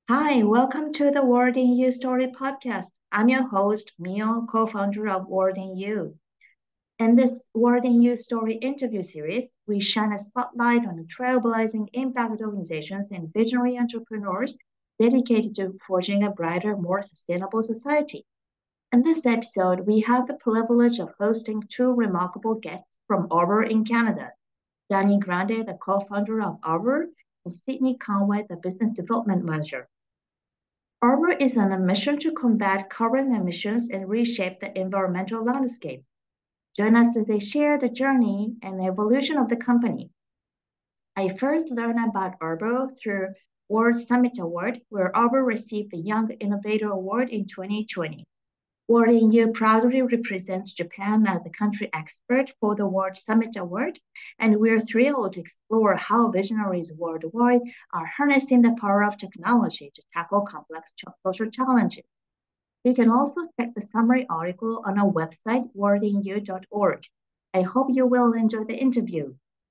Hi, welcome to the Word in You Story podcast. I'm your host, Mio, co-founder of Word in You. In this Word in You Story interview series, we shine a spotlight on the trailblazing impact organizations and visionary entrepreneurs dedicated to forging a brighter, more sustainable society. In this episode, we have the privilege of hosting two remarkable guests from Arbor in Canada. Danny Grande, the co-founder of Arbor, and Sydney Conway, the business development manager. Arbor is on a mission to combat carbon emissions and reshape the environmental landscape. Join us as they share the journey and the evolution of the company. I first learned about Arbor through World Summit Award, where Arbor received the Young Innovator Award in 2020. World in You proudly represents Japan as the country expert for the World Summit Award, and we're thrilled to explore how visionaries worldwide are harnessing the power of technology to tackle complex social challenges. You can also check the summary article on our website, wordinu.org. I hope you will enjoy the interview.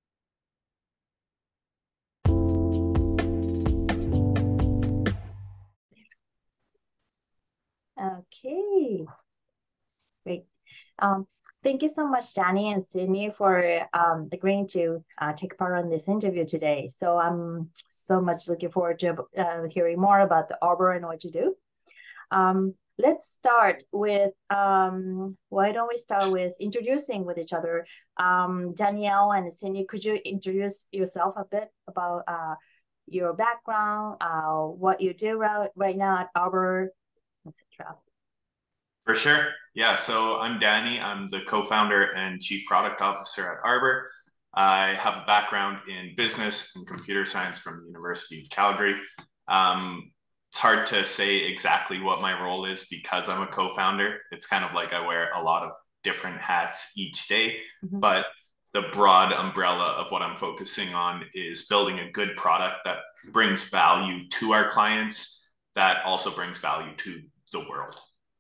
Okay, great. Um, Thank you so much, Danny and Sydney, for agreeing to take part on this interview today. So I'm so much looking forward to hearing more about the Arbor and what you do. Let's start with, why don't we start with introducing with each other? Danielle and Sydney, could you introduce yourself a bit about your background, what you do right now at Arbor, etc. For sure. Yeah. So I'm Danny. I'm the co-founder and chief product officer at Arbor. I have a background in business and computer science from the University of Calgary. It's hard to say exactly what my role is because I'm a co-founder. It's kind of like I wear a lot of different hats each day, but the broad umbrella of what I'm focusing on is building a good product that brings value to our clients, that also brings value to the world.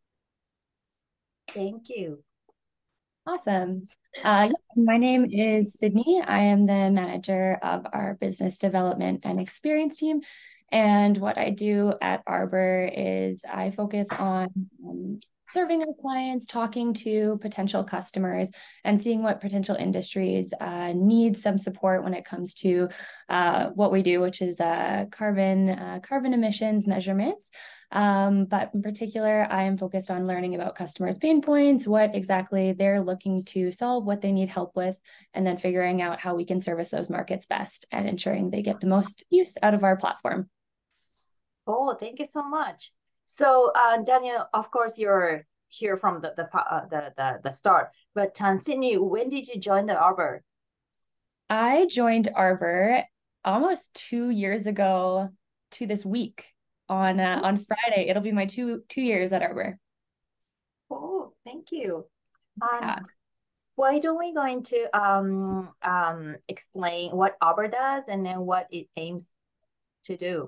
Thank you. Awesome. My name is Sydney. I am the manager of our business development and experience team. And what I do at Arbor is I focus on serving our clients, talking to potential customers, and seeing what potential industries need some support when it comes to what we do, which is carbon emissions measurements. But in particular, I am focused on learning about customers' pain points, what exactly they're looking to solve, what they need help with, and then figuring out how we can service those markets best and ensuring they get the most use out of our platform. Oh, thank you so much. So, Daniel, of course, you're here from the start. But Sydney, when did you join the Arbor? I joined Arbor almost 2 years ago to this week on Friday. It'll be my two years at Arbor. Oh, thank you. Yeah. Why don't we going to explain what Arbor does and then what it aims to do?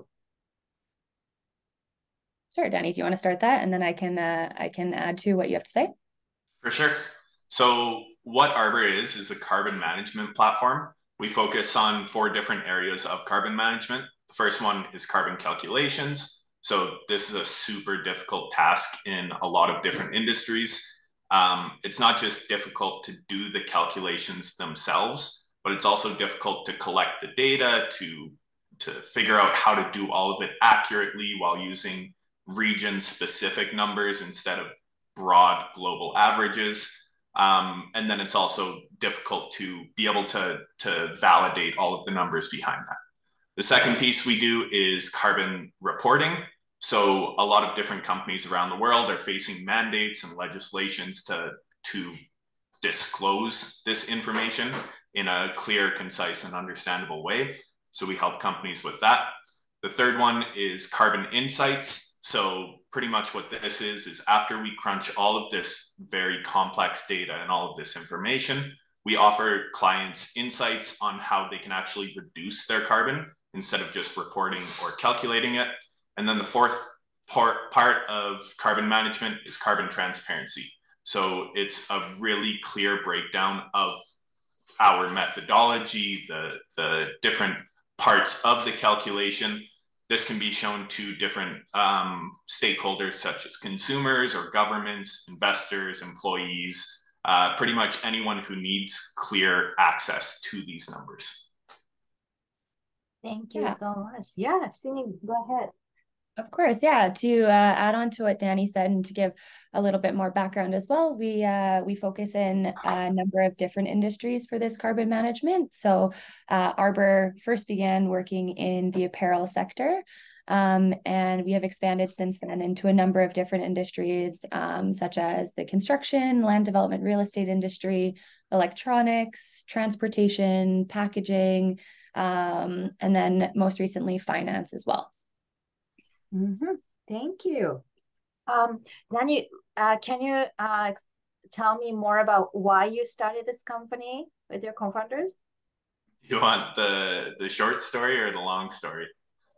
Sure, Danny, do you want to start that? And then I can add to what you have to say. For sure. So what Arbor is a carbon management platform. We focus on 4 different areas of carbon management. The first one is carbon calculations. So this is a super difficult task in a lot of different industries. It's not just difficult to do the calculations themselves, but it's also difficult to collect the data, to figure out how to do all of it accurately while using region-specific numbers instead of broad global averages. And then it's also difficult to be able to validate all of the numbers behind that. The second piece we do is carbon reporting. So a lot of different companies around the world are facing mandates and legislations to disclose this information in a clear, concise, and understandable way. So we help companies with that. The third one is carbon insights. So pretty much what this is after we crunch all of this very complex data and all of this information, we offer clients insights on how they can actually reduce their carbon instead of just reporting or calculating it. And then the fourth part of carbon management is carbon transparency. So it's a really clear breakdown of our methodology, the different parts of the calculation, this can be shown to different stakeholders such as consumers or governments, investors, employees, pretty much anyone who needs clear access to these numbers. Thank you so much. Yeah, Sydney, go ahead. Of course, yeah. To add on to what Danny said and to give a little bit more background as well, we focus in a number of different industries for this carbon management. So Arbor first began working in the apparel sector, and we have expanded since then into a number of different industries, such as the construction, land development, real estate industry, electronics, transportation, packaging, and then most recently finance as well. Thank you. Danny, can you tell me more about why you started this company with your co-founders? You want the short story or the long story?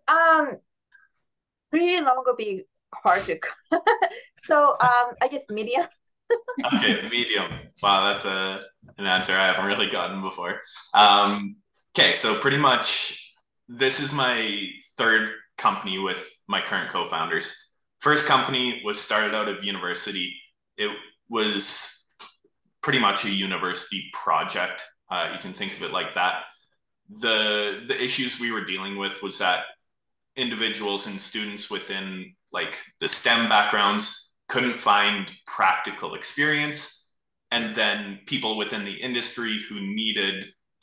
Pretty long would be hard to. So I guess medium. Okay, medium. Wow, that's an answer I haven't really gotten before. Okay, so pretty much this is my third company with my current co-founders. First company was started out of university. It was pretty much a university project. You can think of it like that. The issues we were dealing with was that individuals and students within like the STEM backgrounds couldn't find practical experience, and then people within the industry who needed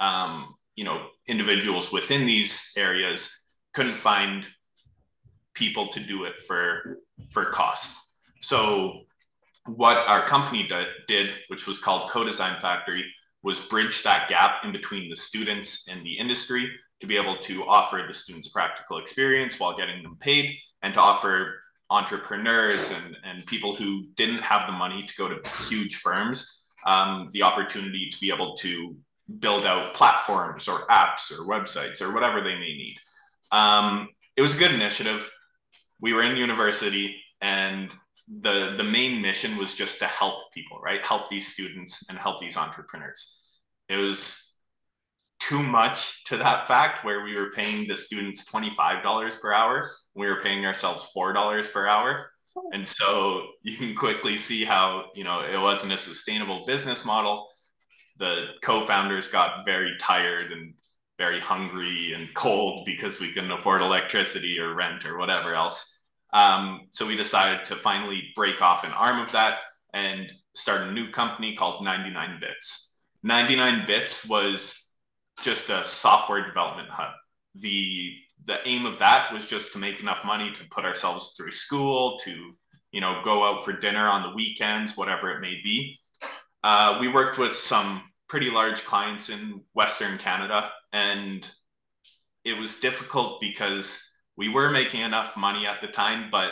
individuals within these areas couldn't find people to do it for cost. So what our company did, which was called Co-Design Factory, was bridge that gap in between the students and the industry to be able to offer the students practical experience while getting them paid, and to offer entrepreneurs and people who didn't have the money to go to huge firms the opportunity to be able to build out platforms or apps or websites or whatever they may need. It was a good initiative. We were in university, and the main mission was just to help people, right? Help these students and help these entrepreneurs. It was too much to that fact where we were paying the students $25 per hour. We were paying ourselves $4 per hour. And so you can quickly see how, it wasn't a sustainable business model. The co-founders got very tired and very hungry and cold because we couldn't afford electricity or rent or whatever else. So we decided to finally break off an arm of that and start a new company called 99 Bits. 99 Bits was just a software development hub. The aim of that was just to make enough money to put ourselves through school, to go out for dinner on the weekends, whatever it may be. We worked with some pretty large clients in Western Canada, and it was difficult because we were making enough money at the time, but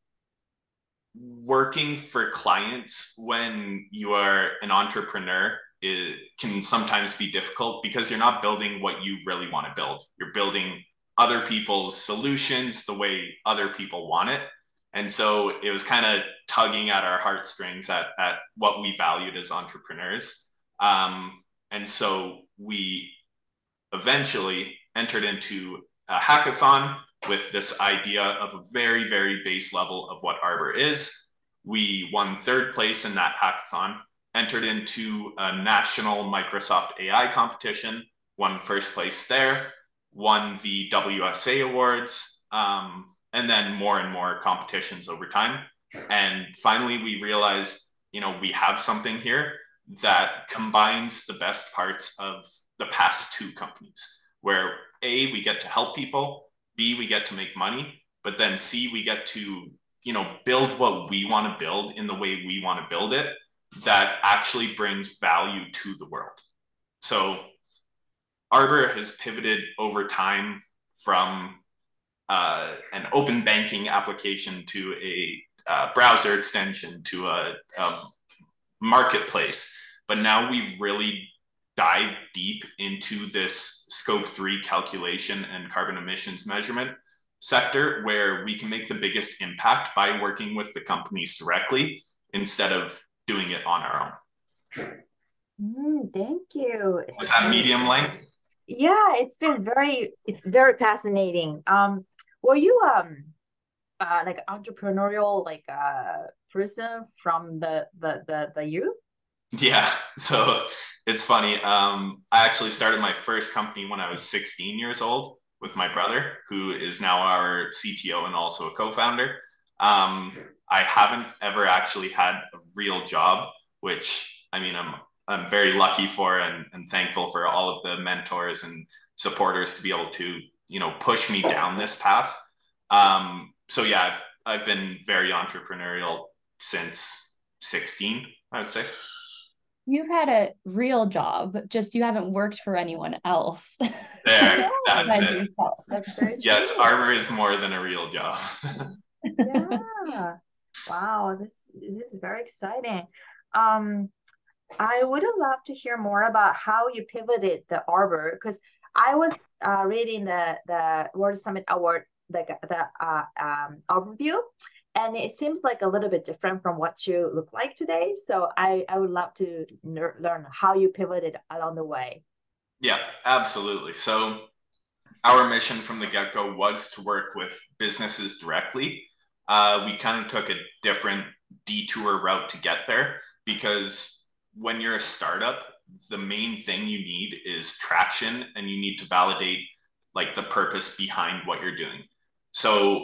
working for clients when you are an entrepreneur, it can sometimes be difficult because you're not building what you really want to build. You're building other people's solutions the way other people want it. And so it was kind of tugging at our heartstrings at what we valued as entrepreneurs. And so we eventually entered into a hackathon with this idea of a very, very base level of what Arbor is. We won third place in that hackathon, entered into a national Microsoft AI competition, won first place there, won the WSA awards, and then more and more competitions over time. And finally, we realized, we have something here that combines the best parts of the past two companies, where A, we get to help people, B, we get to make money, but then C, we get to, build what we want to build in the way we want to build it that actually brings value to the world. So Arbor has pivoted over time from an open banking application to a browser extension to a marketplace. But now we've really dived deep into this Scope 3 calculation and carbon emissions measurement sector, where we can make the biggest impact by working with the companies directly instead of doing it on our own. Thank you. Was that medium length? Yeah, it's very fascinating. Were you like entrepreneurial person from the youth? Yeah, so it's funny. I actually started my first company when I was 16 years old with my brother, who is now our CTO and also a co-founder. Um, I haven't ever actually had a real job, which I mean, I'm very lucky for and thankful for all of the mentors and supporters to be able to, push me down this path. So yeah, I've been very entrepreneurial since 16, I would say. You've had a real job, just you haven't worked for anyone else. There, that's Yes, Led it. yourself. that's very Yes, true. Arbor is more than a real job. Yeah. Wow, this is very exciting. Um, I would have loved to hear more about how you pivoted the Arbor because I was reading the World Summit Award the overview, and it seems like a little bit different from what you look like today. So I would love to learn how you pivoted along the way. Yeah, absolutely. So our mission from the get-go was to work with businesses directly. We kind of took a different detour route to get there because when you're a startup, the main thing you need is traction and you need to validate like the purpose behind what you're doing. So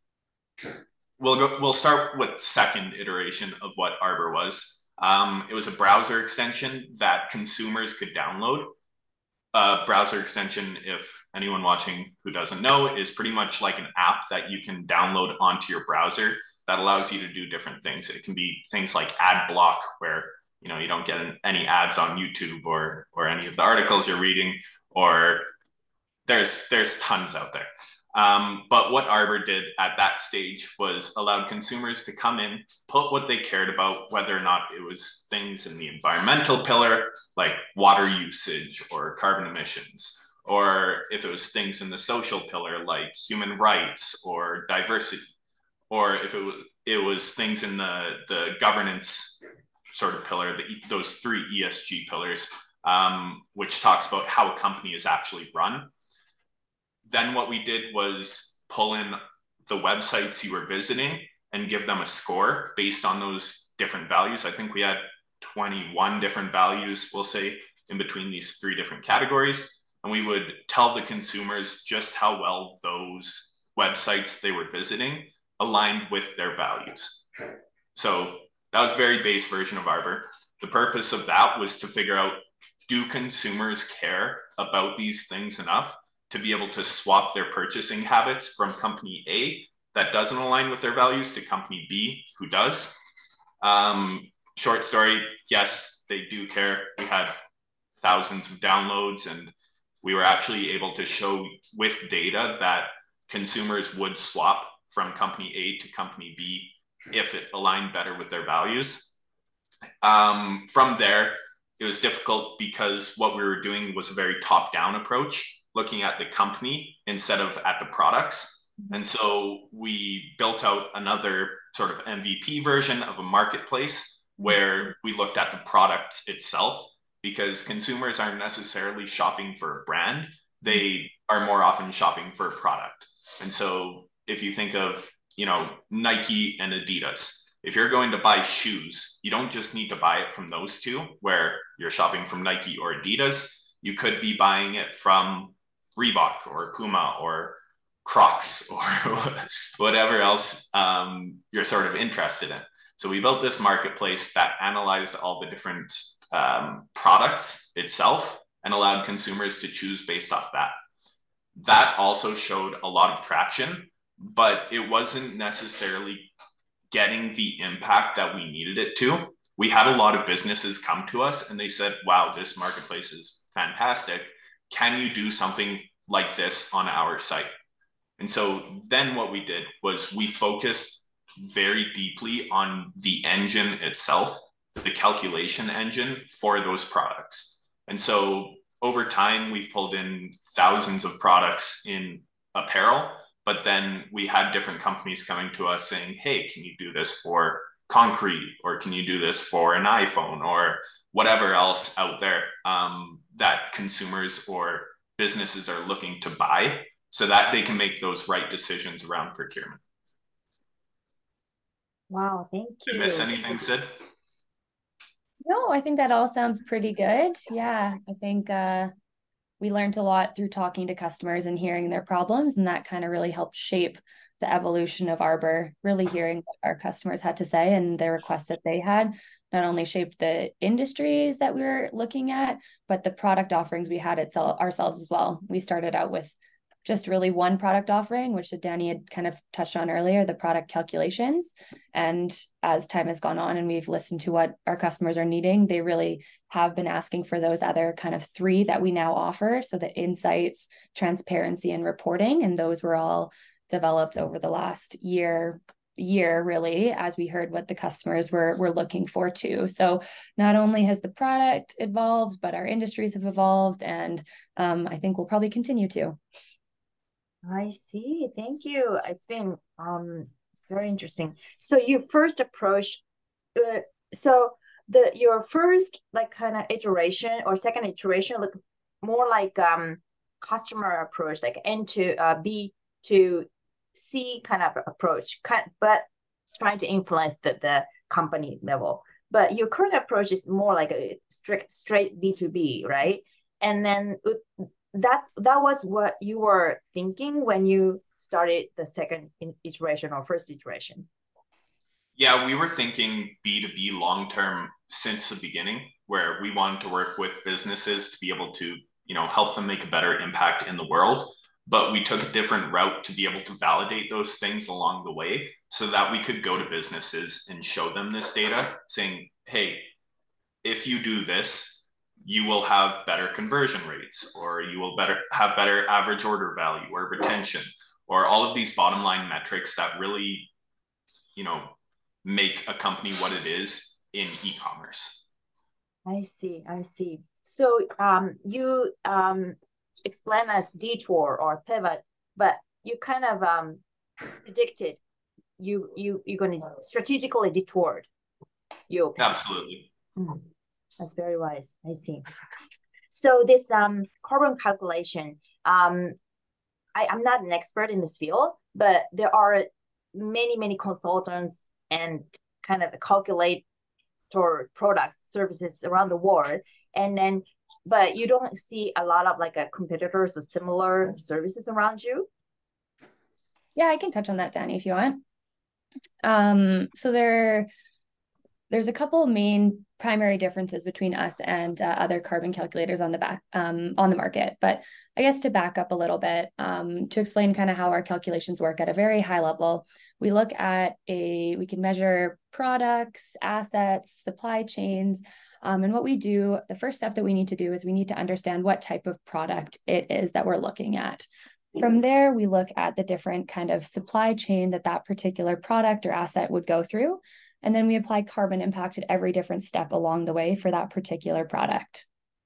we'll start with second iteration of what Arbor was. It was a browser extension that consumers could download. Browser extension, if anyone watching who doesn't know, is pretty much like an app that you can download onto your browser that allows you to do different things. It can be things like ad block, where you don't get any ads on YouTube or any of the articles you're reading, or there's tons out there. But what Arbor did at that stage was allowed consumers to come in, put what they cared about, whether or not it was things in the environmental pillar, like water usage or carbon emissions, or if it was things in the social pillar, like human rights or diversity, or if it was things in the governance sort of pillar, those three ESG pillars, which talks about how a company is actually run. Then what we did was pull in the websites you were visiting and give them a score based on those different values. I think we had 21 different values, we'll say, in between these three different categories. And we would tell the consumers just how well those websites they were visiting aligned with their values. So that was a very base version of Arbor. The purpose of that was to figure out, do consumers care about these things enough to be able to swap their purchasing habits from company A that doesn't align with their values to company B who does? Short story, yes, they do care. We had thousands of downloads, and we were actually able to show with data that consumers would swap from company A to company B if it aligned better with their values. From there, it was difficult because what we were doing was a very top-down approach, looking at the company instead of at the products. And so we built out another sort of MVP version of a marketplace where we looked at the product itself, because consumers aren't necessarily shopping for a brand. They are more often shopping for a product. And so if you think of, Nike and Adidas, if you're going to buy shoes, you don't just need to buy it from those two where you're shopping from Nike or Adidas. You could be buying it from Reebok or Puma or Crocs or whatever else you're sort of interested in. So we built this marketplace that analyzed all the different products itself and allowed consumers to choose based off that. That also showed a lot of traction, but it wasn't necessarily getting the impact that we needed it to. We had a lot of businesses come to us and they said, wow, this marketplace is fantastic. Can you do something like this on our site? And so then what we did was we focused very deeply on the engine itself, the calculation engine for those products. And so over time, we've pulled in thousands of products in apparel, but then we had different companies coming to us saying, hey, can you do this for concrete, or can you do this for an iPhone, or whatever else out there that consumers or businesses are looking to buy. so that they can make those right decisions around procurement. Wow, thank you. Did I miss anything, Sid? No, I think that all sounds pretty good. Yeah, I think we learned a lot through talking to customers and hearing their problems, and that kind of really helped shape the evolution of Arbor, really hearing what our customers had to say and the requests that they had not only shaped the industries that we were looking at, but the product offerings we had ourselves as well. We started out with just really one product offering, which Danny had kind of touched on earlier, the product calculations. And as time has gone on and we've listened to what our customers are needing, they really have been asking for those other kind of three that we now offer. So the insights, transparency, and reporting. And those were all developed over the last year really, as we heard what the customers were looking for too. So not only has the product evolved, but our industries have evolved, and I think we'll probably continue to. I see. Thank you. It's been it's very interesting. So you first approached your first like kind of iteration or second iteration look more like customer approach, like N to B to C kind of approach, but trying to influence the company level. But your current approach is more like a straight B2B, right? And then that was what you were thinking when you started the second iteration or first iteration? Yeah, we were thinking B2B long term since the beginning, where we wanted to work with businesses to be able to, help them make a better impact in the world. But we took a different route to be able to validate those things along the way so that we could go to businesses and show them this data saying, hey, if you do this, you will have better conversion rates, or you will have better average order value or retention, or all of these bottom line metrics that really, make a company what it is in e-commerce. I see. So you explain as detour or pivot, but you kind of predicted you're going to strategically detoured. Absolutely. That's very wise. I see. So this carbon calculation, I'm not an expert in this field, but there are many consultants and kind of calculate or products, services around the world. And then, but you don't see a lot of like competitors or similar services around you. Yeah, I can touch on that, Danny, if you want. So there's a couple of main primary differences between us and other carbon calculators on the market. But I guess to back up a little bit, to explain kind of how our calculations work at a very high level, we can measure products, assets, supply chains. And what we do, the first step that we need to do is we need to understand what type of product it is that we're looking at. From there, we look at the different kind of supply chain that particular product or asset would go through. And then we apply carbon impact at every different step along the way for that particular product.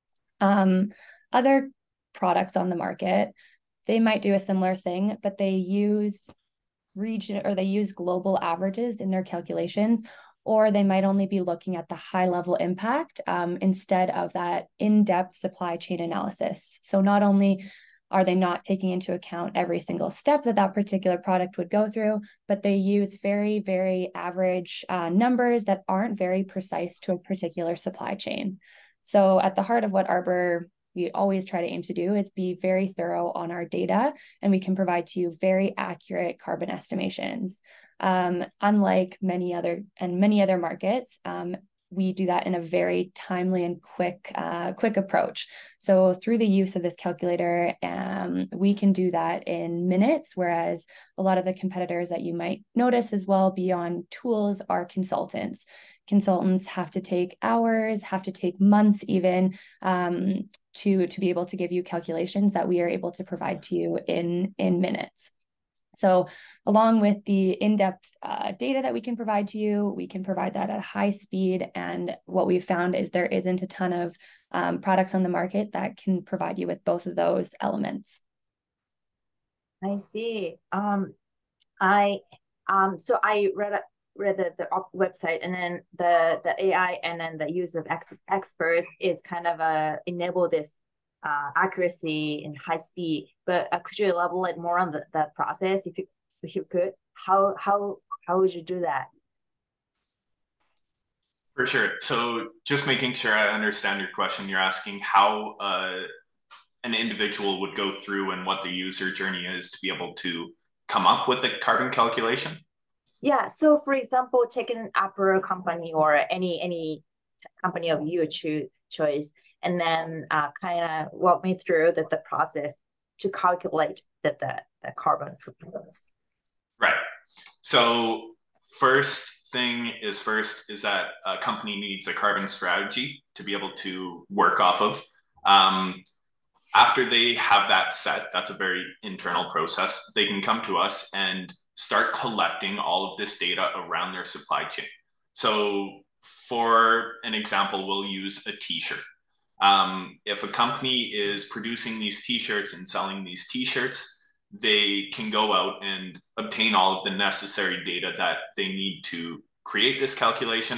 Other products on the market, they might do a similar thing, but they use global averages in their calculations, or they might only be looking at the high level impact instead of that in-depth supply chain analysis. So not only are they not taking into account every single step that particular product would go through, but they use very, very average numbers that aren't very precise to a particular supply chain. So at the heart of what Arbor we always try to aim to do is be very thorough on our data, and we can provide to you very accurate carbon estimations. Unlike many other markets, we do that in a very timely and quick approach. So through the use of this calculator, we can do that in minutes, whereas a lot of the competitors that you might notice as well beyond tools are consultants. Consultants have to take hours, have to take months even to be able to give you calculations that we are able to provide to you in minutes. So along with the in-depth data that we can provide to you, we can provide that at high speed. And what we've found is there isn't a ton of products on the market that can provide you with both of those elements. I see. So I read the website, and then the AI and then the use of experts is kind of enable this accuracy and high speed. But could you elaborate more on the process if you could? How would you do that? For sure. So just making sure I understand your question, you're asking how an individual would go through and what the user journey is to be able to come up with a carbon calculation? Yeah. So for example, take an Apple company or any company of your choice, and then kind of walk me through the process to calculate the carbon footprints. Right. So first is that a company needs a carbon strategy to be able to work off of. After they have that set, that's a very internal process. They can come to us and start collecting all of this data around their supply chain. So for an example, we'll use a t-shirt. If a company is producing these t-shirts and selling these t-shirts, they can go out and obtain all of the necessary data that they need to create this calculation.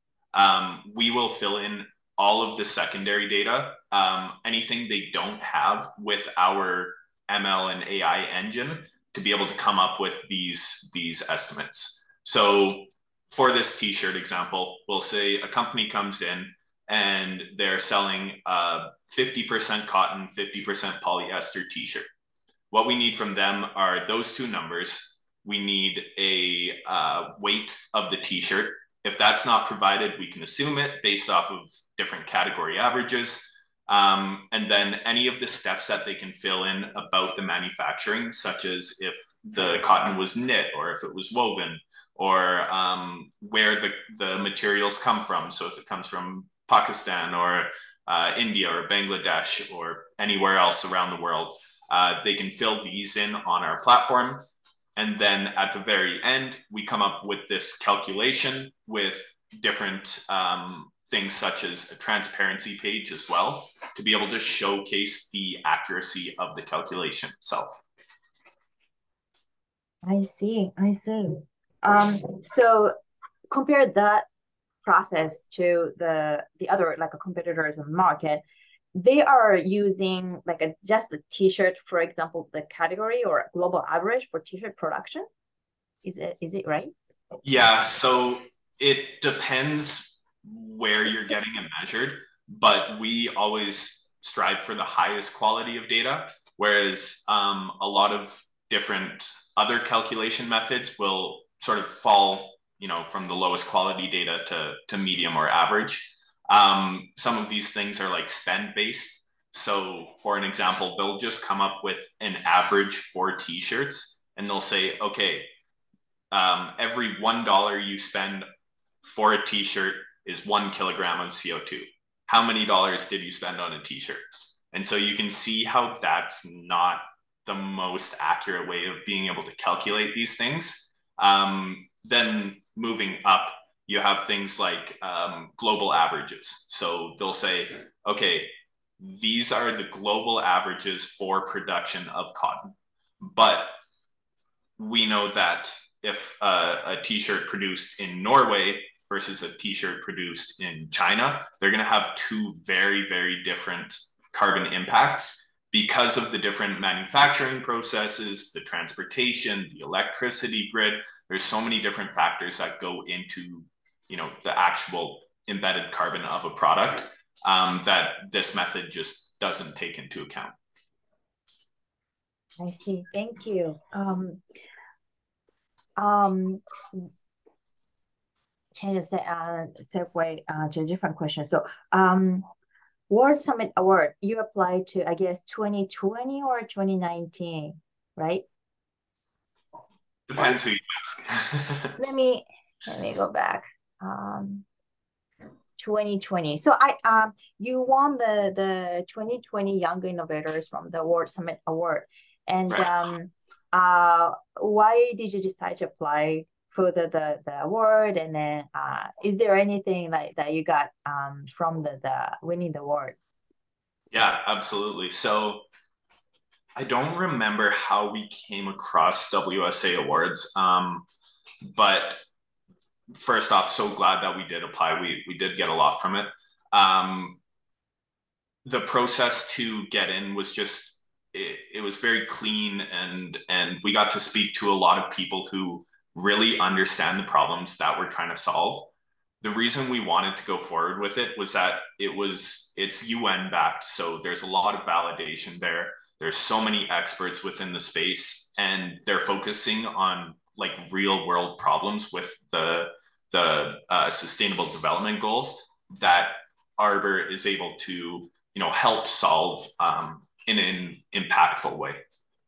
We will fill in all of the secondary data, anything they don't have with our ML and AI engine to be able to come up with these estimates. So for this t-shirt example, we'll say a company comes in and they're selling a 50% cotton, 50% polyester t-shirt. What we need from them are those two numbers. We need a weight of the t-shirt. If that's not provided, we can assume it based off of different category averages. And then any of the steps that they can fill in about the manufacturing, such as if the cotton was knit or if it was woven, or where the materials come from. So if it comes from Pakistan or India or Bangladesh or anywhere else around the world, they can fill these in on our platform. And then at the very end, we come up with this calculation with different things such as a transparency page as well, to be able to showcase the accuracy of the calculation itself. I see. So compare that process to the other like competitors in the market. They are using like just a t-shirt, for example, the category or global average for t-shirt production. Is it right? Yeah, so it depends where you're getting it measured, but we always strive for the highest quality of data, whereas a lot of different other calculation methods will sort of fall, from the lowest quality data to medium or average. Some of these things are like spend based. So for an example, they'll just come up with an average for t-shirts and they'll say, okay, every $1 you spend for a t-shirt is 1 kilogram of CO2. How many dollars did you spend on a t-shirt? And so you can see how that's not the most accurate way of being able to calculate these things. Then moving up, you have things like global averages. So they'll say, okay, these are the global averages for production of cotton. But we know that if a t-shirt produced in Norway versus a t-shirt produced in China, they're going to have two very, very different carbon impacts because of the different manufacturing processes, the transportation, the electricity grid. There's so many different factors that go into the actual embedded carbon of a product that this method just doesn't take into account. I see. Thank you. Change the segue to a different question. So, World Summit Award you applied to, I guess, 2020 or 2019, right? Depends who you ask. let me go back. 2020. So you won the 2020 Young Innovators from the World Summit Award, and right. Why did you decide to apply for the award? And then is there anything like that you got from the winning the award? Yeah, absolutely. So I don't remember how we came across WSA Awards, but first off, so glad that we did apply. We did get a lot from it. the process to get in was just, it was very clean, and we got to speak to a lot of people who really understand the problems that we're trying to solve. The reason we wanted to go forward with it was that it's UN backed, so there's a lot of validation there. There's so many experts within the space, and they're focusing on like real world problems with the sustainable development goals that Arbor is able to help solve in an impactful way.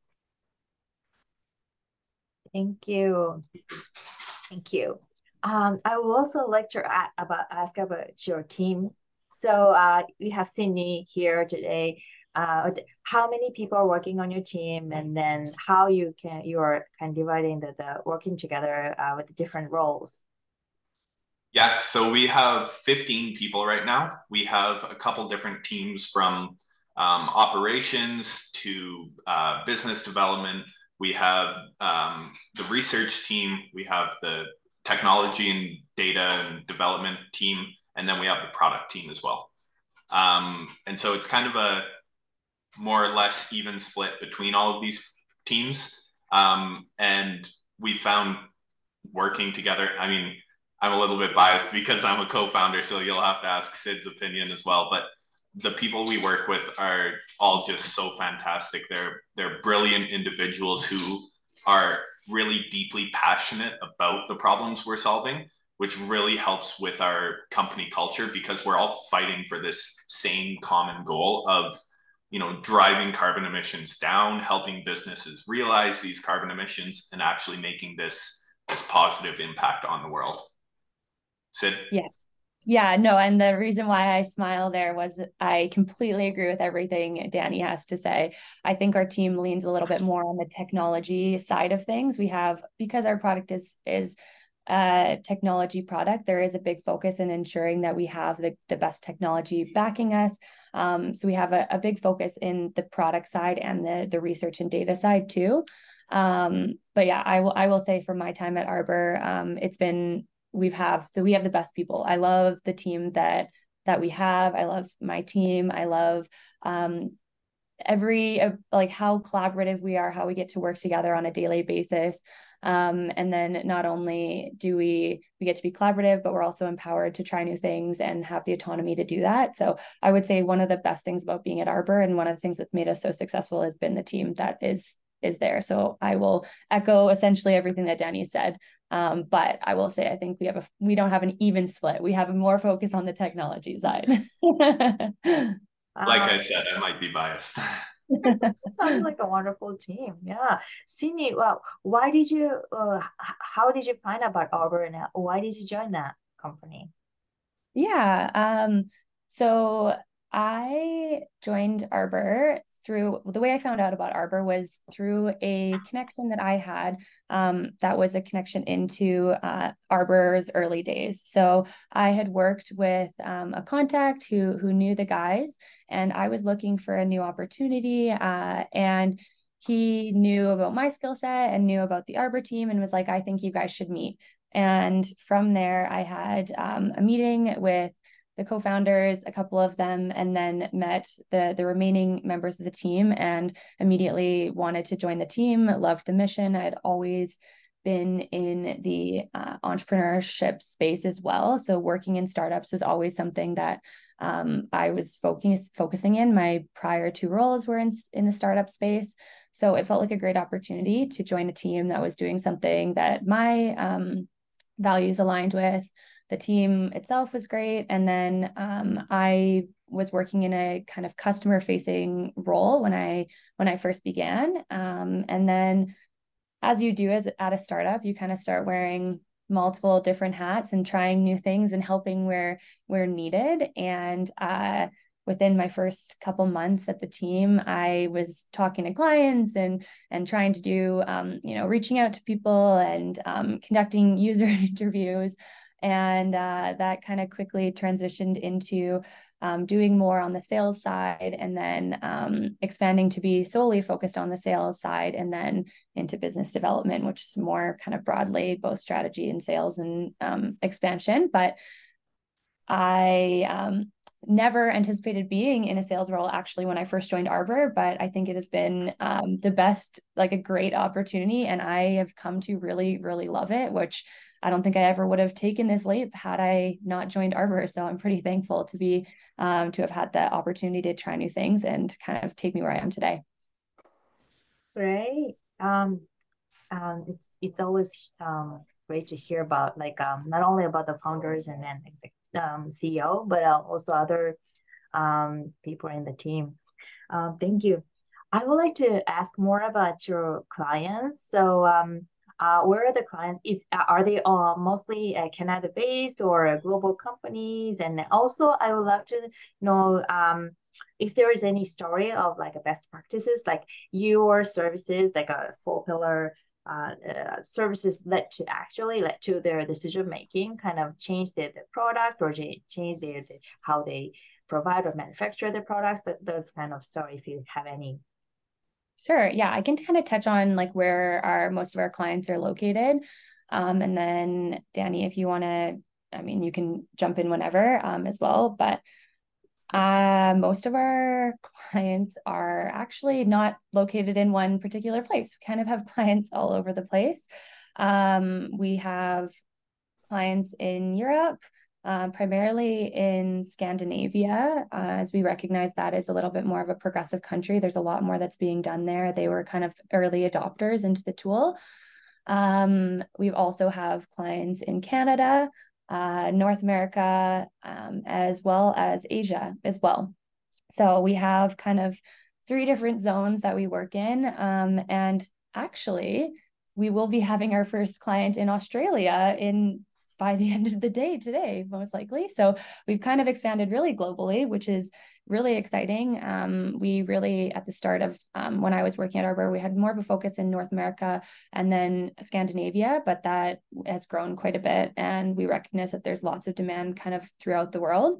Thank you. Thank you. I would also like to ask about your team. So we have Sydney here today. How many people are working on your team, and then how you are kind of dividing the working together with the different roles? Yeah, so we have 15 people right now. We have a couple different teams from operations to business development. We have the research team, we have the technology and data and development team, and then we have the product team as well. And so it's kind of a more or less even split between all of these teams. And we found working together, I mean, I'm a little bit biased because I'm a co-founder, so you'll have to ask Sid's opinion as well. But the people we work with are all just so fantastic. They're brilliant individuals who are really deeply passionate about the problems we're solving, which really helps with our company culture, because we're all fighting for this same common goal of driving carbon emissions down, helping businesses realize these carbon emissions, and actually making this positive impact on the world. Sid? Yeah, no, and the reason why I smile there was I completely agree with everything Danny has to say. I think our team leans a little bit more on the technology side of things. We have, because our product is a technology product, there is a big focus in ensuring that we have the best technology backing us. So we have a big focus in the product side and the research and data side too. But yeah, I will say from my time at Arbor, we have the best people. I love the team that we have. I love my team. I love like how collaborative we are, how we get to work together on a daily basis. And then not only do we get to be collaborative, but we're also empowered to try new things and have the autonomy to do that. So I would say one of the best things about being at Arbor, and one of the things that's made us so successful, has been the team that is there. So I will echo essentially everything that Danny said. But I will say, I think we don't have an even split. We have more focus on the technology side. Like I said, I might be biased. Sounds like a wonderful team. Yeah. Sydney, well, how did you find about Arbor, and why did you join that company? Yeah. So I joined Arbor through, the way I found out about Arbor was through a connection that I had, that was a connection into Arbor's early days. So I had worked with a contact who knew the guys, and I was looking for a new opportunity, and he knew about my skill set and knew about the Arbor team, and was like, I think you guys should meet. And from there, I had a meeting with the co-founders, a couple of them, and then met the remaining members of the team, and immediately wanted to join the team, loved the mission. I had always been in the entrepreneurship space as well. So working in startups was always something that I was focusing in. My prior 2 roles were in the startup space. So it felt like a great opportunity to join a team that was doing something that my values aligned with. The team itself was great. And then I was working in a kind of customer facing role when I first began. And then, as you do at a startup, you kind of start wearing multiple different hats and trying new things and helping where needed. And within my first couple months at the team, I was talking to clients and trying to do, reaching out to people and conducting user interviews. And that kind of quickly transitioned into doing more on the sales side, and then expanding to be solely focused on the sales side, and then into business development, which is more kind of broadly both strategy and sales and expansion. But I never anticipated being in a sales role actually when I first joined Arbor, but I think it has been the best, like a great opportunity. And I have come to really, really love it, which I don't think I ever would have taken this leap had I not joined Arbor. So I'm pretty thankful to be, to have had the opportunity to try new things and kind of take me where I am today. Great. It's always great to hear about like not only about the founders and then CEO, but also other people in the team. Thank you. I would like to ask more about your clients. So where are the clients? Are they all mostly Canada based or global companies? And also I would love to know if there is any story of like a best practices, like your services, like a 4-pillar services led to their decision making, kind of change the product or change how they provide or manufacture the products. Those kind of story, if you have any. Sure. Yeah, I can kind of touch on like where most of our clients are located. And then Danny, if you want to, I mean, you can jump in whenever as well. But most of our clients are actually not located in one particular place. We kind of have clients all over the place. We have clients in Europe, primarily in Scandinavia, as we recognize that is a little bit more of a progressive country. There's a lot more that's being done there. They were kind of early adopters into the tool. We also have clients in Canada, North America, as well as Asia as well. So we have kind of 3 different zones that we work in. And actually, we will be having our first client in Australia by the end of the day today, most likely. So we've kind of expanded really globally, which is really exciting. We really, at the start of when I was working at Arbor, we had more of a focus in North America and then Scandinavia, but that has grown quite a bit. And we recognize that there's lots of demand kind of throughout the world.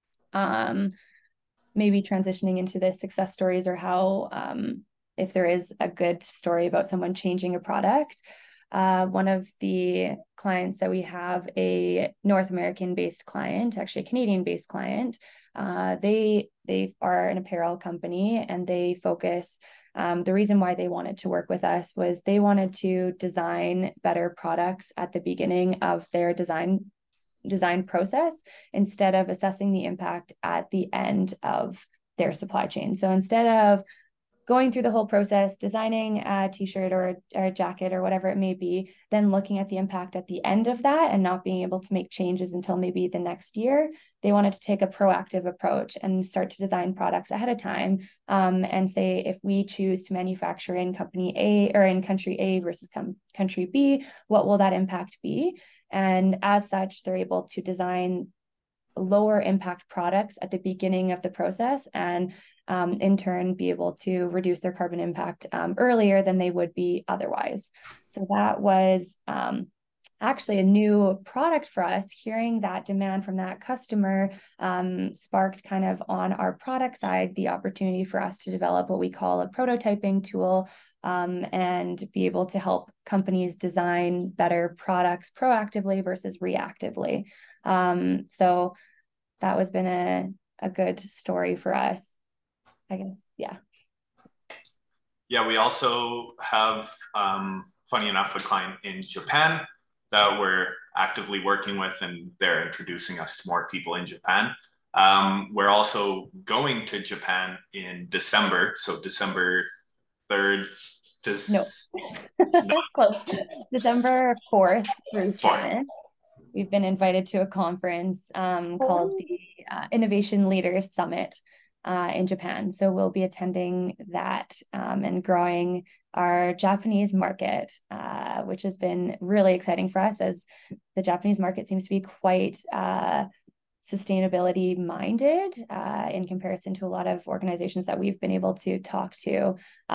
Maybe transitioning into the success stories or how, if there is a good story about someone changing a product. One of the clients that we have, a North American based client, actually a Canadian based client, they are an apparel company and they focus, the reason why they wanted to work with us was they wanted to design better products at the beginning of their design process instead of assessing the impact at the end of their supply chain. So instead of going through the whole process, designing a t-shirt or a jacket or whatever it may be, then looking at the impact at the end of that and not being able to make changes until maybe the next year, they wanted to take a proactive approach and start to design products ahead of time and say, if we choose to manufacture in company A or in country A versus country B, what will that impact be? And as such, they're able to design lower impact products at the beginning of the process and in turn be able to reduce their carbon impact earlier than they would be otherwise. So that was actually a new product for us. Hearing that demand from that customer sparked kind of on our product side the opportunity for us to develop what we call a prototyping tool and be able to help companies design better products proactively versus reactively. So that has been a good story for us, I guess. Yeah. Yeah, we also have, funny enough, a client in Japan that we're actively working with, and they're introducing us to more people in Japan. We're also going to Japan in December, so December 3rd. No. Close. December 4th through 7th. We've been invited to a conference called the Innovation Leaders Summit in Japan. So we'll be attending that and growing our Japanese market, which has been really exciting for us, as the Japanese market seems to be quite sustainability minded in comparison to a lot of organizations that we've been able to talk to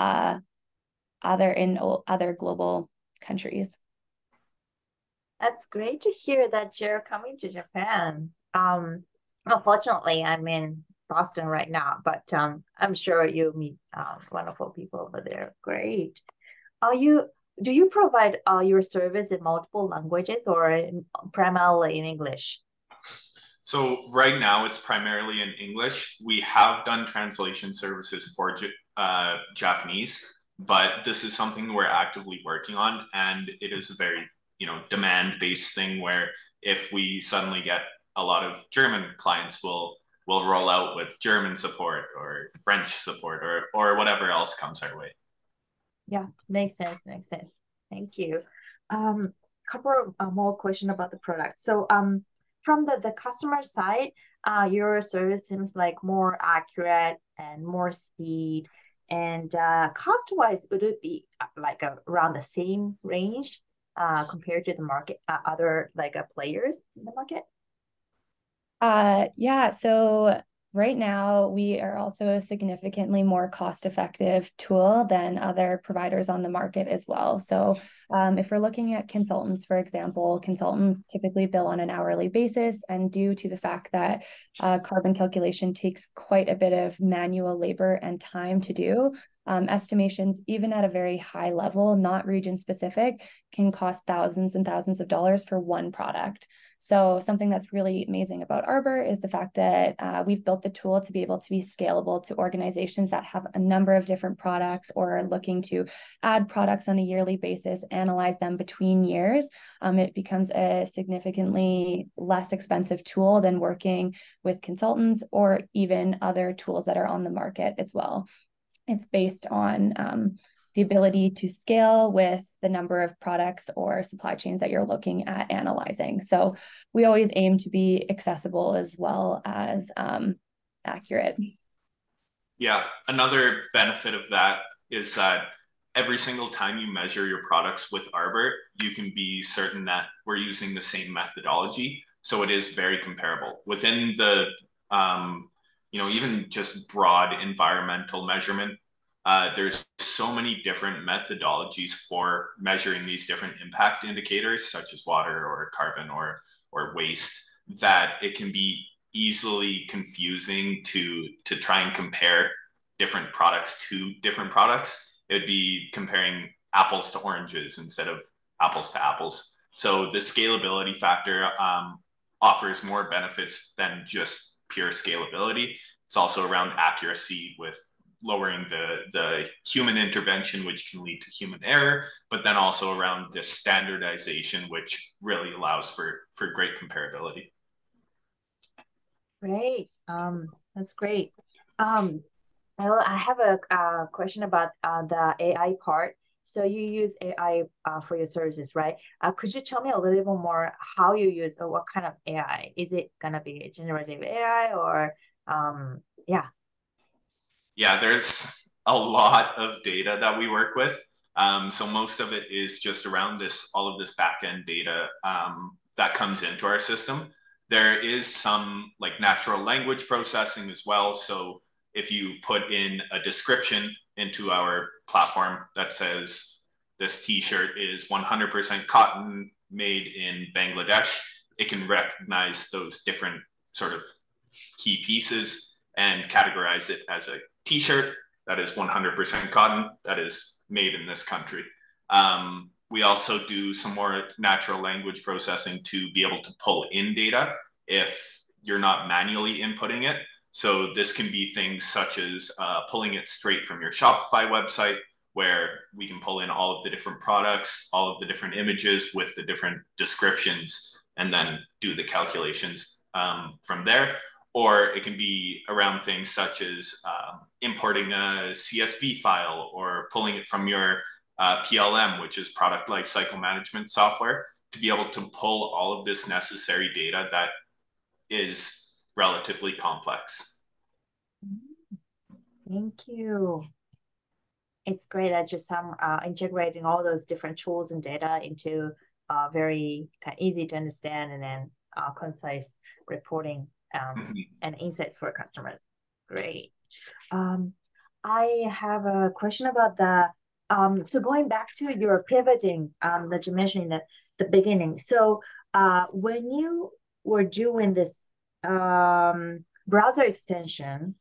other global countries. That's great to hear that you're coming to Japan. Unfortunately, I'm in Boston right now, but I'm sure you'll meet wonderful people over there. Great. Do you provide your service in multiple languages or primarily in English? So right now it's primarily in English. We have done translation services for Japanese, but this is something we're actively working on, and it is a very demand-based thing where if we suddenly get a lot of German clients, we'll roll out with German support or French support or whatever else comes our way. Yeah, makes sense. Makes sense. Thank you. Couple of more question about the product. So from the customer side, your service seems like more accurate and more speed. And cost-wise, would it be like around the same range compared to the market, other like players in the market? Yeah, so right now we are also a significantly more cost-effective tool than other providers on the market as well. So if we're looking at consultants, for example, consultants typically bill on an hourly basis, and due to the fact that carbon calculation takes quite a bit of manual labor and time to do, estimations, even at a very high level, not region specific, can cost thousands and thousands of dollars for one product. So something that's really amazing about Arbor is the fact that we've built the tool to be able to be scalable to organizations that have a number of different products or are looking to add products on a yearly basis, analyze them between years. It becomes a significantly less expensive tool than working with consultants or even other tools that are on the market as well. It's based on the ability to scale with the number of products or supply chains that you're looking at analyzing. So we always aim to be accessible as well as accurate. Yeah, another benefit of that is that every single time you measure your products with Arbor, you can be certain that we're using the same methodology. So it is very comparable. Within the, even just broad environmental measurement, there's so many different methodologies for measuring these different impact indicators, such as water or carbon or waste, that it can be easily confusing to try and compare different products to different products. It would be comparing apples to oranges instead of apples to apples. So the scalability factor offers more benefits than just pure scalability. It's also around accuracy with lowering the human intervention, which can lead to human error, but then also around this standardization, which really allows for great comparability. Great. That's great. I have a question about the AI part. So you use AI for your services, right? Could you tell me a little bit more how you use or what kind of AI? Is it gonna be generative AI or yeah? Yeah, there's a lot of data that we work with. So most of it is just around all of this back-end data that comes into our system. There is some like natural language processing as well. So if you put in a description into our platform that says this t-shirt is 100% cotton made in Bangladesh, it can recognize those different sort of key pieces and categorize it as a t-shirt that is 100% cotton that is made in this country. We also do some more natural language processing to be able to pull in data if you're not manually inputting it. So this can be things such as pulling it straight from your Shopify website, where we can pull in all of the different products, all of the different images with the different descriptions, and then do the calculations from there. Or it can be around things such as importing a CSV file or pulling it from your PLM, which is product lifecycle management software, to be able to pull all of this necessary data that is relatively complex. Thank you. It's great that you're integrating all those different tools and data into very easy to understand and then concise reporting and insights for customers. Great. I have a question about so going back to your pivoting that you mentioned in the beginning. So when you were doing this browser extension,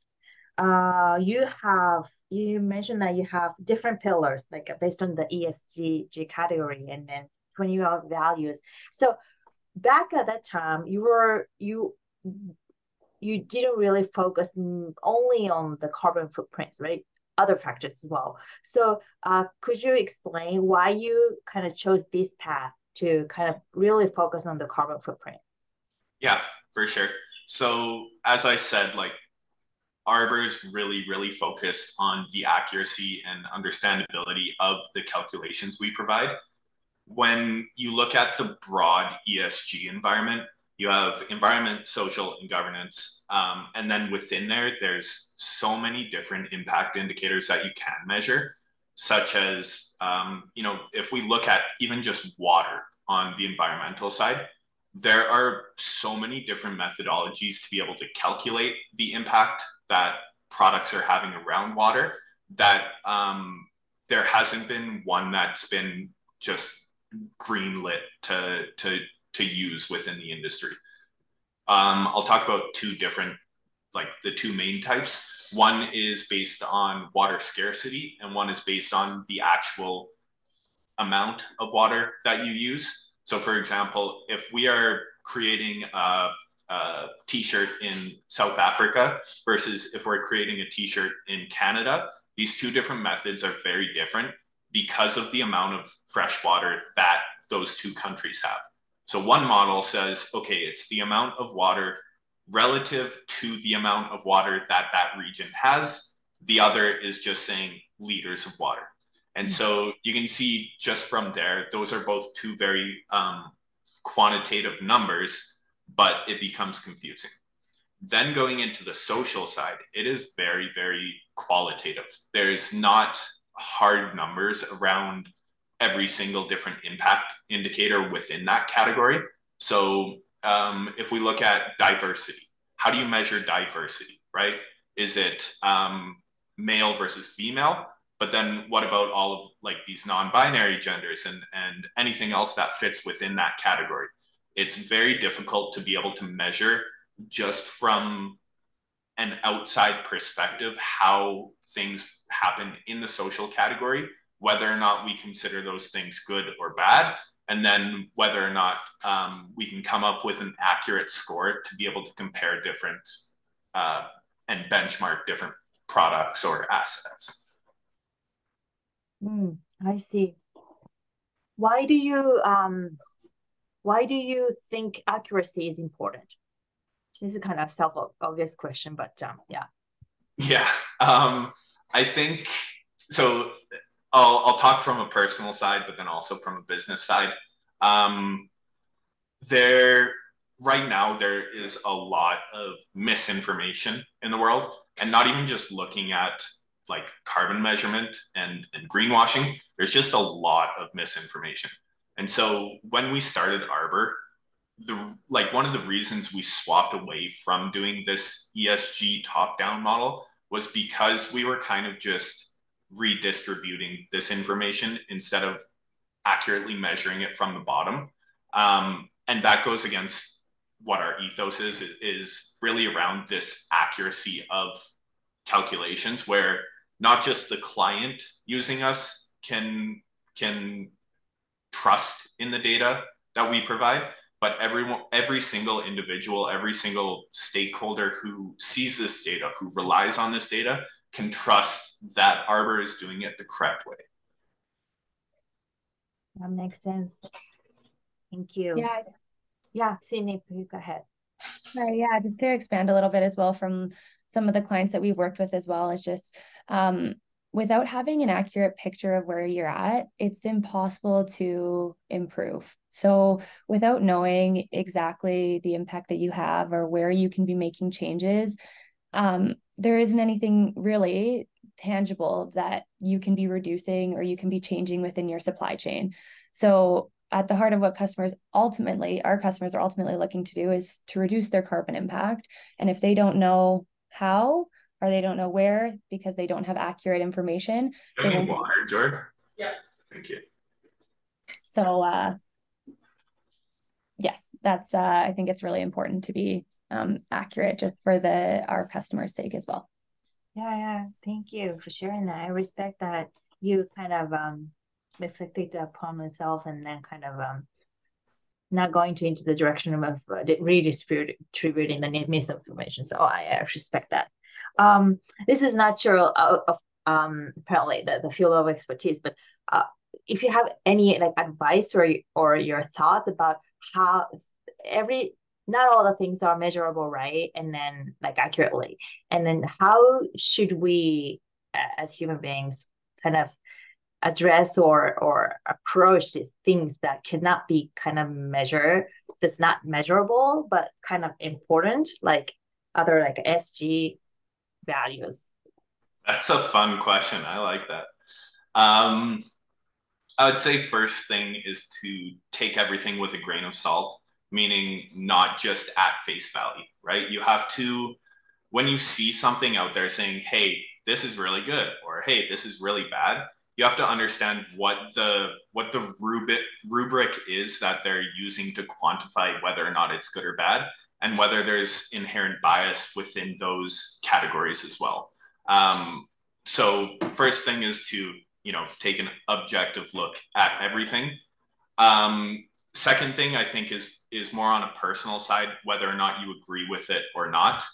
you mentioned that you have different pillars, like based on the ESG category and then 20 values. So back at that time, you you didn't really focus only on the carbon footprints, right? Other factors as well. So could you explain why you kind of chose this path to kind of really focus on the carbon footprint? Yeah, for sure. So as I said, like Arbor's really, really focused on the accuracy and understandability of the calculations we provide. When you look at the broad ESG environment, you have environment, social, and governance. And then within there, there's so many different impact indicators that you can measure, such as, if we look at even just water on the environmental side, there are so many different methodologies to be able to calculate the impact that products are having around water that there hasn't been one that's been just greenlit to use within the industry. I'll talk about two different, like the two main types. One is based on water scarcity, and one is based on the actual amount of water that you use. So, for example, if we are creating a t-shirt in South Africa versus if we're creating a t-shirt in Canada, these two different methods are very different because of the amount of fresh water that those two countries have. So one model says, okay, it's the amount of water relative to the amount of water that that region has. The other is just saying liters of water. And so you can see just from there, those are both two very quantitative numbers, but it becomes confusing. Then going into the social side, it is very, very qualitative. There's not hard numbers around every single different impact indicator within that category. So if we look at diversity, how do you measure diversity, right? Is it male versus female? But then what about all of like these non-binary genders and anything else that fits within that category? It's very difficult to be able to measure just from an outside perspective how things happen in the social category, whether or not we consider those things good or bad, and then whether or not we can come up with an accurate score to be able to compare different and benchmark different products or assets. I see. Why do you think accuracy is important? This is kind of self-obvious question, but yeah. Yeah, I think so. I'll talk from a personal side, but then also from a business side. Right now there is a lot of misinformation in the world, and not even just looking at like carbon measurement and greenwashing. There's just a lot of misinformation. And so when we started Arbor, one of the reasons we swapped away from doing this ESG top-down model was because we were kind of just redistributing this information instead of accurately measuring it from the bottom. And that goes against what our ethos is really around this accuracy of calculations, where not just the client using us can trust in the data that we provide, but every single individual, every single stakeholder who sees this data, who relies on this data, can trust that Arbor is doing it the correct way. That makes sense. Thank you. Yeah. Yeah, Sydney, please go ahead. Right, yeah, just to expand a little bit as well from some of the clients that we've worked with as well, is just without having an accurate picture of where you're at, it's impossible to improve. So without knowing exactly the impact that you have or where you can be making changes, there isn't anything really tangible that you can be reducing or you can be changing within your supply chain. So at the heart of what our customers are ultimately looking to do is to reduce their carbon impact. And if they don't know how, or they don't know where, because they don't have accurate information. They won't water, Jordan? Yeah. Thank you. So yes, that's I think it's really important to be accurate just for our customers' sake as well. Yeah. Thank you for sharing that. I respect that you kind of reflected upon yourself and then kind of not going to into the direction of redistributing the misinformation. So I respect that. This is not sure of apparently the field of expertise, but if you have any like advice or your thoughts about how not all the things are measurable, right? And then like accurately, and then how should we as human beings kind of address or approach these things that cannot be kind of measured, that's not measurable but kind of important, like other like SG values? That's a fun question. I like that. I would say first thing is to take everything with a grain of salt, meaning not just at face value, right? You have to, when you see something out there saying, hey, this is really good, or hey, this is really bad, you have to understand what the rubric is that they're using to quantify whether or not it's good or bad, and whether there's inherent bias within those categories as well. So first thing is to take an objective look at everything. Second thing I think is more on a personal side, whether or not you agree with it or not.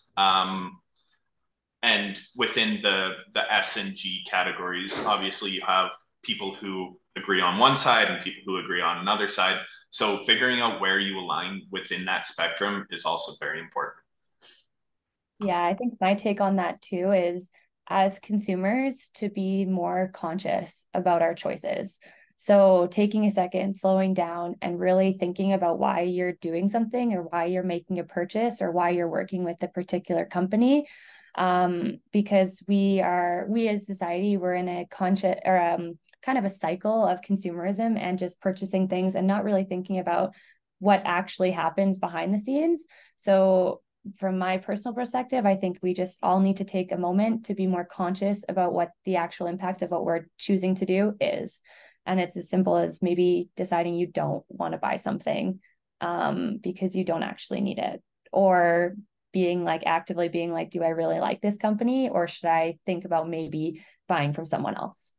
And within the S and G categories, obviously you have people who agree on one side and people who agree on another side. So figuring out where you align within that spectrum is also very important. Yeah, I think my take on that too is, as consumers, to be more conscious about our choices. So taking a second, slowing down, and really thinking about why you're doing something, or why you're making a purchase, or why you're working with a particular company. Because we as society, we're in a conscious or kind of a cycle of consumerism and just purchasing things and not really thinking about what actually happens behind the scenes. So from my personal perspective, I think we just all need to take a moment to be more conscious about what the actual impact of what we're choosing to do is. And it's as simple as maybe deciding you don't want to buy something because you don't actually need it, or actively being like, do I really like this company, or should I think about maybe buying from someone else?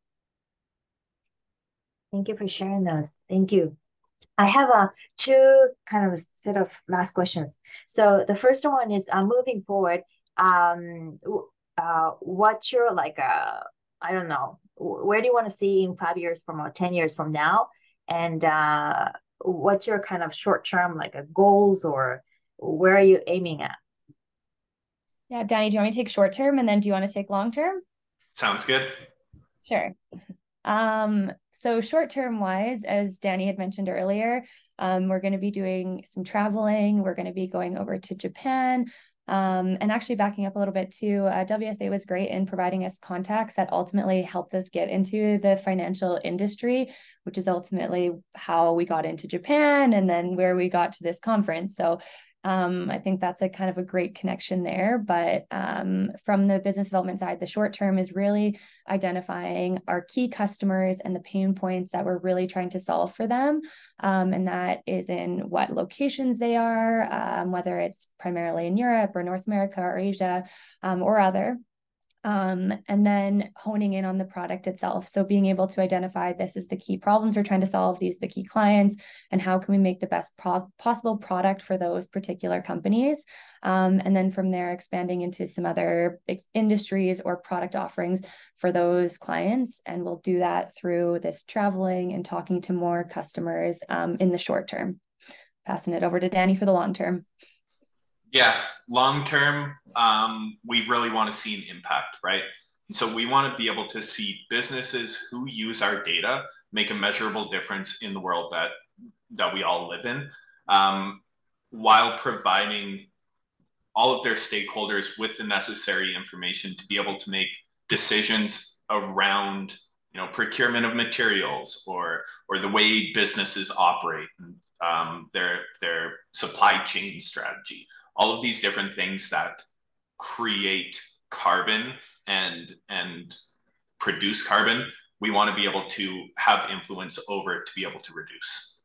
Thank you for sharing those. Thank you. I have two kind of set of last questions. So the first one is moving forward. What's your I don't know, where do you want to see in 5 years from or 10 years from now? And what's your kind of short term goals, or where are you aiming at? Yeah, Danny, do you want me to take short term, and then do you want to take long term? Sounds good. Sure. So short term wise, as Danny had mentioned earlier, we're going to be doing some traveling. We're going to be going over to Japan. And actually backing up a little bit too, WSA was great in providing us contacts that ultimately helped us get into the financial industry, which is ultimately how we got into Japan and then where we got to this conference. So I think that's a kind of a great connection there. But from the business development side, the short term is really identifying our key customers and the pain points that we're really trying to solve for them. And that is in what locations they are, whether it's primarily in Europe or North America or Asia or other. And then honing in on the product itself. So being able to identify, this is the key problems we're trying to solve, these are the key clients, and how can we make the best possible product for those particular companies. And then from there, expanding into some other industries or product offerings for those clients. And we'll do that through this traveling and talking to more customers in the short term. Passing it over to Danny for the long term. Yeah, long term, we really want to see an impact, right? And so we want to be able to see businesses who use our data make a measurable difference in the world that we all live in, while providing all of their stakeholders with the necessary information to be able to make decisions around procurement of materials or the way businesses operate, their supply chain strategy. All of these different things that create carbon and produce carbon, we want to be able to have influence over to be able to reduce.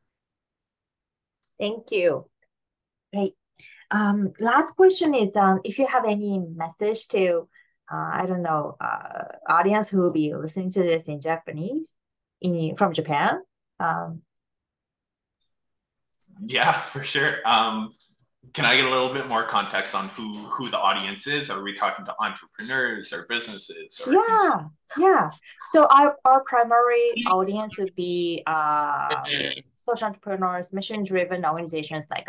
Thank you. Great. Last question is, if you have any message to, audience who will be listening to this in Japanese, from Japan. Yeah, for sure. Can I get a little bit more context on who the audience is? Are we talking to entrepreneurs or businesses or Yeah. So our primary audience would be social entrepreneurs, mission-driven organizations like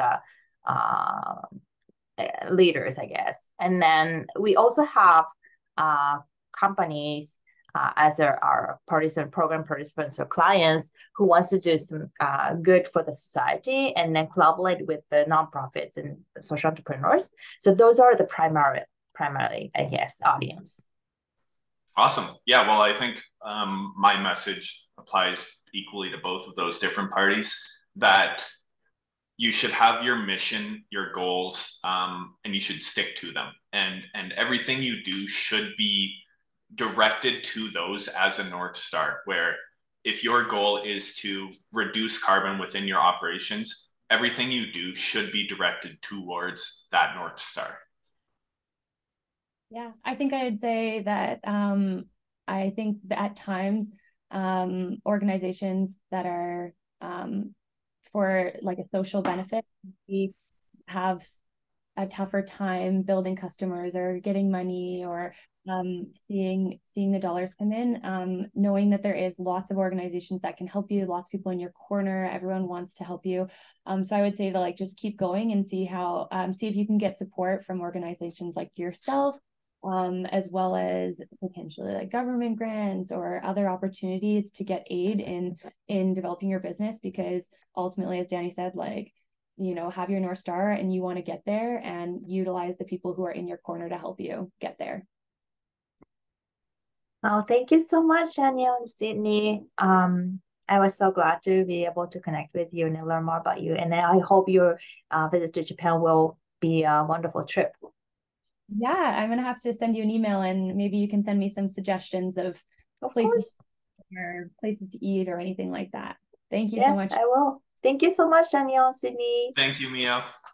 leaders, I guess. And then we also have companies as our program participants or clients who wants to do some good for the society and then collaborate with the nonprofits and social entrepreneurs. So those are the primarily, I guess, audience. Awesome. Yeah, well, I think my message applies equally to both of those different parties, that you should have your mission, your goals, and you should stick to them. And everything you do should be directed to those as a North Star, where if your goal is to reduce carbon within your operations, everything you do should be directed towards that North Star. Yeah, I think I'd say that I think that at times organizations that are for like a social benefit, we have a tougher time building customers or getting money or seeing the dollars come in, knowing that there is lots of organizations that can help you, lots of people in your corner, everyone wants to help you. So I would say to like just keep going and see how see if you can get support from organizations like yourself, as well as potentially like government grants or other opportunities to get aid in developing your business, because ultimately, as Danny said, like, you know, have your North Star and you want to get there and utilize the people who are in your corner to help you get there. Oh, thank you so much, Danielle and Sydney. I was so glad to be able to connect with you and learn more about you. And I hope your visit to Japan will be a wonderful trip. Yeah, I'm gonna have to send you an email and maybe you can send me some suggestions of places or places to eat or anything like that. Thank you so much. I will. Thank you so much, Danielle and Sydney. Thank you, Mia.